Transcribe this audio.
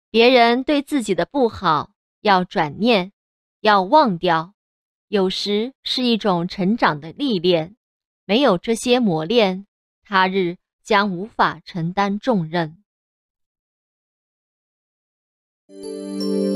别人对自己的不好要转念，要忘掉，有时是一种成长的历练，没有这些磨练，他日将无法承担重任。